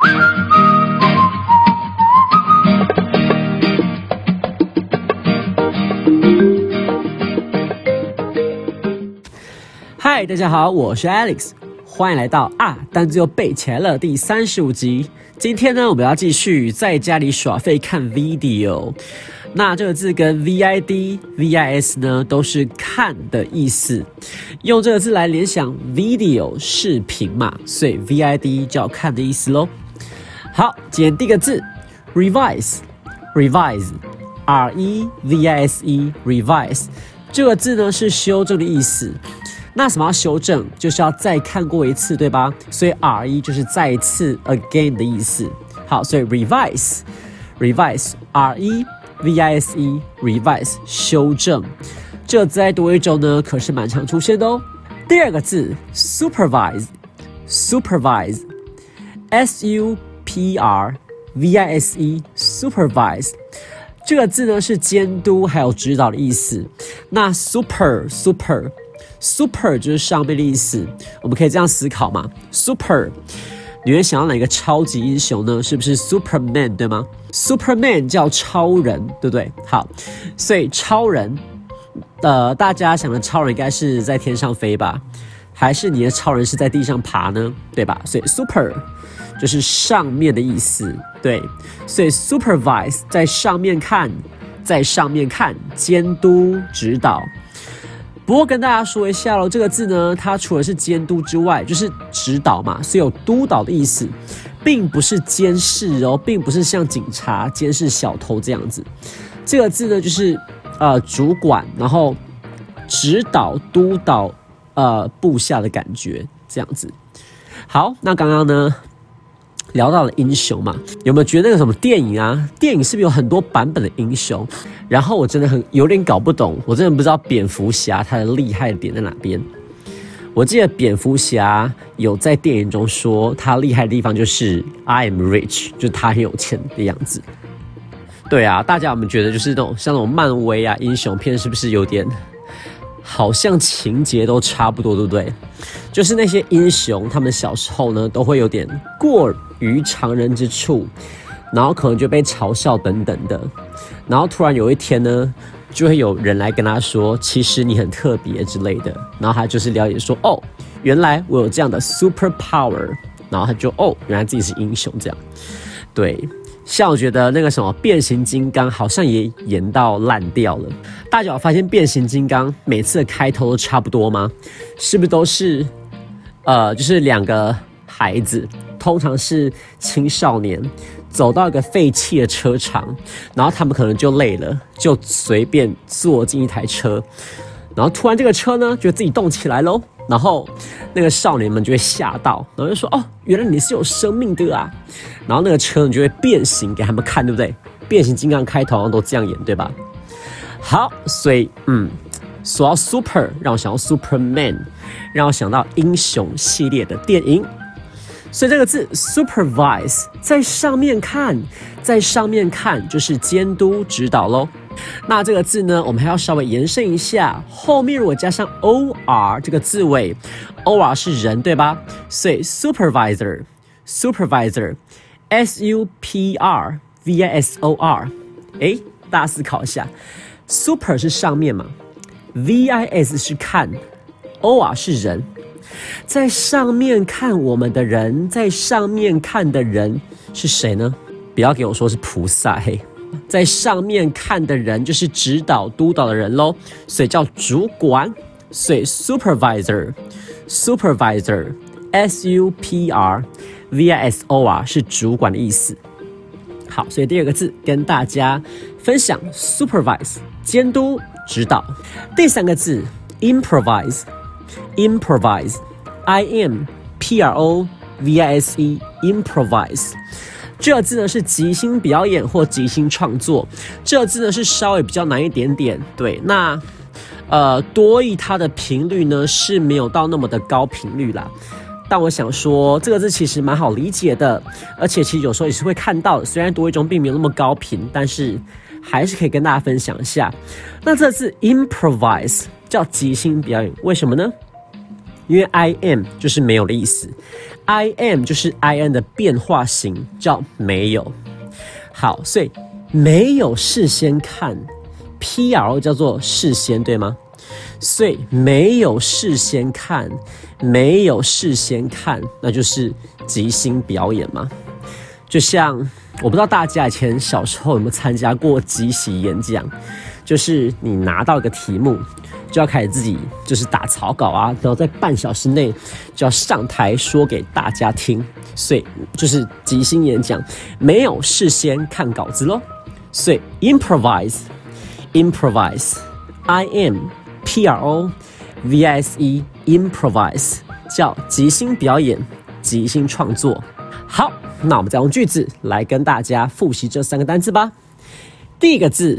嗨，大家好，我是 Alex， 欢迎来到单字又背起来了第35集。今天呢，我们要继续在家里耍废看 video。那这个字跟 VID、VIS 呢都是看的意思，用这个字来联想 video 视频嘛，所以 VID 就要看的意思咯。好，今天第一个字 revise，revise，R-E-V-I-S-E revise 这个字呢是修正的意思。那什么要修正？就是要再看过一次，对吧？所以 re 就是再一次 again 的意思。好，所以 revise，revise，R-E-V-I-S-E revise 修正。这个字在多一中呢，可是蛮常出现的哦。第二个字 supervise，supervise，S-U-P-R-V-I-S-E supervise。这个字呢是监督还有指导的意思。那 super 就是上面的意思，我们可以这样思考嘛 ？Super， 你会想到哪个超级英雄呢？是不是 Superman 对吗 ？Superman 叫超人，对不对？好，所以超人，大家想的超人应该是在天上飞吧？还是你的超人是在地上爬呢？对吧？所以 Super 就是上面的意思，对，所以 Supervise 在上面看，监督指导。不过跟大家说一下咯，这个字呢，它除了是监督之外，就是指导嘛，所以有督导的意思，并不是监视哦，并不是像警察监视小偷这样子。这个字呢，就是主管，然后指导、督导部下的感觉这样子。好，那刚刚呢聊到了英雄嘛，有没有觉得那个什么电影啊？电影是不是有很多版本的英雄？然后我真的有点搞不懂，我真的不知道蝙蝠侠他的厉害的点在哪边。我记得蝙蝠侠有在电影中说他厉害的地方就是 I am rich， 就是他很有钱的样子。对啊，大家有没有觉得就是像那种漫威啊英雄片是不是有点好像情节都差不多，对不对？就是那些英雄他们小时候呢都会有点过于常人之处，然后可能就被嘲笑等等的，然后突然有一天呢，就会有人来跟他说，其实你很特别之类的，然后他就是了解说，哦，原来我有这样的 super power， 然后他就原来自己是英雄这样。对，像我觉得那个什么变形金刚好像也演到烂掉了。大家有发现变形金刚每次的开头都差不多吗？是不是都是就是两个孩子，通常是青少年，走到一个废弃的车场，然后他们可能就累了，就随便坐进一台车，然后突然这个车呢就自己动起来咯，然后那个少年们就会吓到，然后就说，哦，原来你是有生命的啊，然后那个车呢就会变形给他们看，对不对？变形金刚开头好像都这样演，对吧？好，所以说到 super 让我想到 Superman， 让我想到英雄系列的电影。所以这个字 supervise 在上面看就是监督指导咯。那这个字呢，我们还要稍微延伸一下，后面如果加上 or 这个字尾， or 是人对吧？所以 supervisor S-U-P-R-V-I-S-O-R， 大家思考一下， super 是上面嘛， V-I-S 是看， or 是人，在上面看我们的人，在上面看的人是谁呢？不要給我說是菩薩嘿，在上面看的人就是指導督導的人咯，所以叫主管，所以 supervisor S-U-P-R-V-I-S-O-R 是主管的意思。好，所以第二个字跟大家分享 supervise 监督指导。第三个字 improvise I-M-P-R-O-V-I-S-E improvise 这个字呢是即兴表演或即兴创作，这个字呢是稍微比较难一点点。对，那多益它的频率呢是没有到那么的高频率啦。但我想说，这个字其实蛮好理解的，而且其实有时候也是会看到的。虽然多益中并没有那么高频，但是还是可以跟大家分享一下。那这个字 improvise 叫即兴表演，为什么呢？ 因为 I am 就是没有的意思 ，I am 就是 I am 的变化型，叫没有。好，所以没有事先看 ，PRO 叫做事先，对吗？所以没有事先看，没有事先看，那就是即兴表演嘛。就像我不知道大家以前小时候有没有参加过即席演讲，就是你拿到一个题目，就要开始自己就是打草稿啊，然后在半小时内就要上台说给大家听，所以就是即兴演讲，没有事先看稿子咯。所以 improvise，I am PROVISE improvise 叫即兴表演、即兴创作。好，那我们再用句子来跟大家复习这3个单字吧。第一个字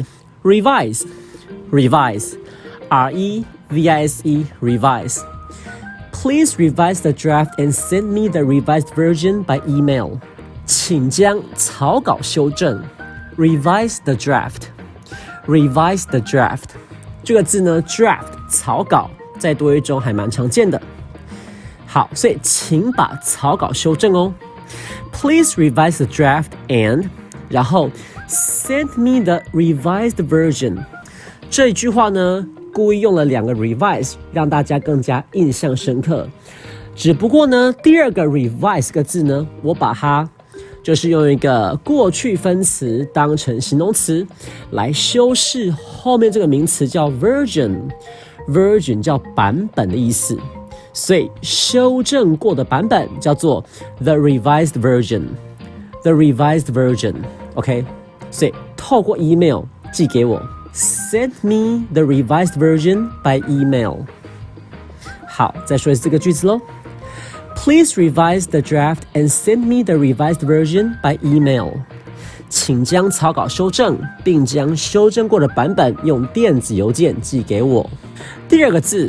revise，revise，R-E-V-I-S-E revise。Please revise the draft and send me the revised version by email。请将草稿修正。Revise the draft，revise the draft。这个字呢 ，draft 草稿，在多义中还蛮常见的。好，所以请把草稿修正哦。Please revise the draft and， 然后 send me the revised version。这一句话呢，故意用了2个 revise， 让大家更加印象深刻。只不过呢，第2个 revise 个字呢，我把它就是用一个过去分词当成形容词来修饰后面这个名词叫 version，version 叫版本的意思，所以修正过的版本叫做 the revised version，the revised version，OK， 所以透过 email 寄给我 ，send me the revised version by email。好，再说一次这个句子咯。Please revise the draft and send me the revised version by email。请将草稿修正，并将修正过的版本用电子邮件寄给我。第2个字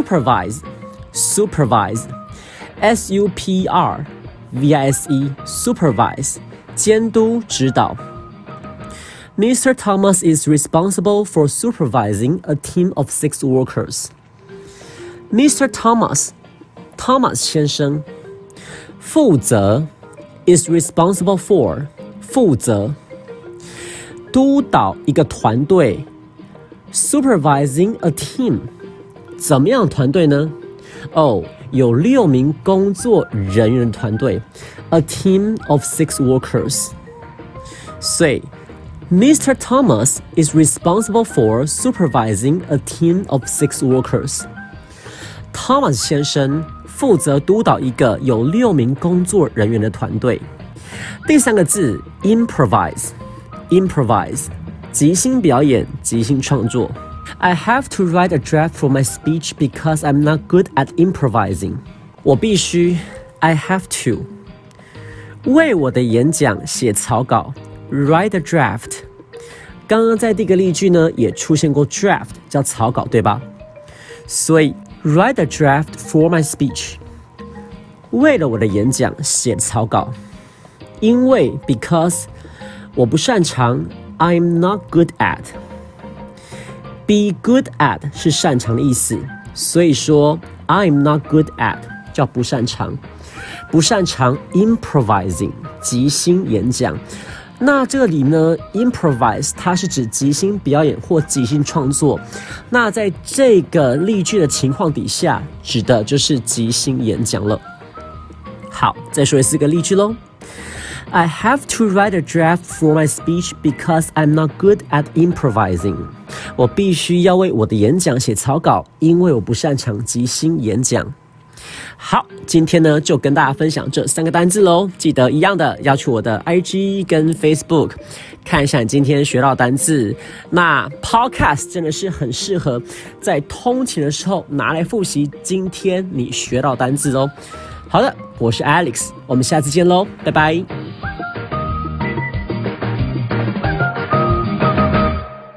supervise，supervise，S-U-P-R-V-I-S-E supervise 监督指导。Mr. Thomas is responsible for supervising a team of 6 workers. Mr. Thomas 先生负责 is responsible for 负责督导一个团队 supervising a team 怎么样的团队呢？有6名工作人员的团队 a team of 6 workers。 所以 Mr. Thomas is responsible for supervising a team of 6 workers。 Thomas 先生负责督导一个有6名工作人员的团队。第3个字 improvise， 即兴表演、即兴创作。I have to write a draft for my speech because I'm not good at improvising。 我必须 I have to 为我的演讲写草稿 write a draft。 刚刚在第一个例句呢也出现过 draft 叫草稿，对吧？所以Write a draft for my speech。 为了我的演讲写草稿。因为 because 我不擅长 I'm not good at。 Be good at 是擅长的意思，所以说 I'm not good at 叫不擅长。不擅长 improvising 即兴演讲。那这里呢 improvise 它是指即兴表演或即兴创作，那在这个例句的情况底下指的就是即兴演讲了。好，再说一次个例句咯。I have to write a draft for my speech because I'm not good at improvising。 我必须要为我的演讲写草稿，因为我不擅长即兴演讲。好，今天呢就跟大家分享这3个单字咯。记得一样的要去我的 IG 跟 Facebook 看一下你今天学到的单字。那 Podcast 真的是很适合在通勤的时候拿来复习今天你学到的单字哦。好的，我是 Alex， 我们下次见咯，拜拜。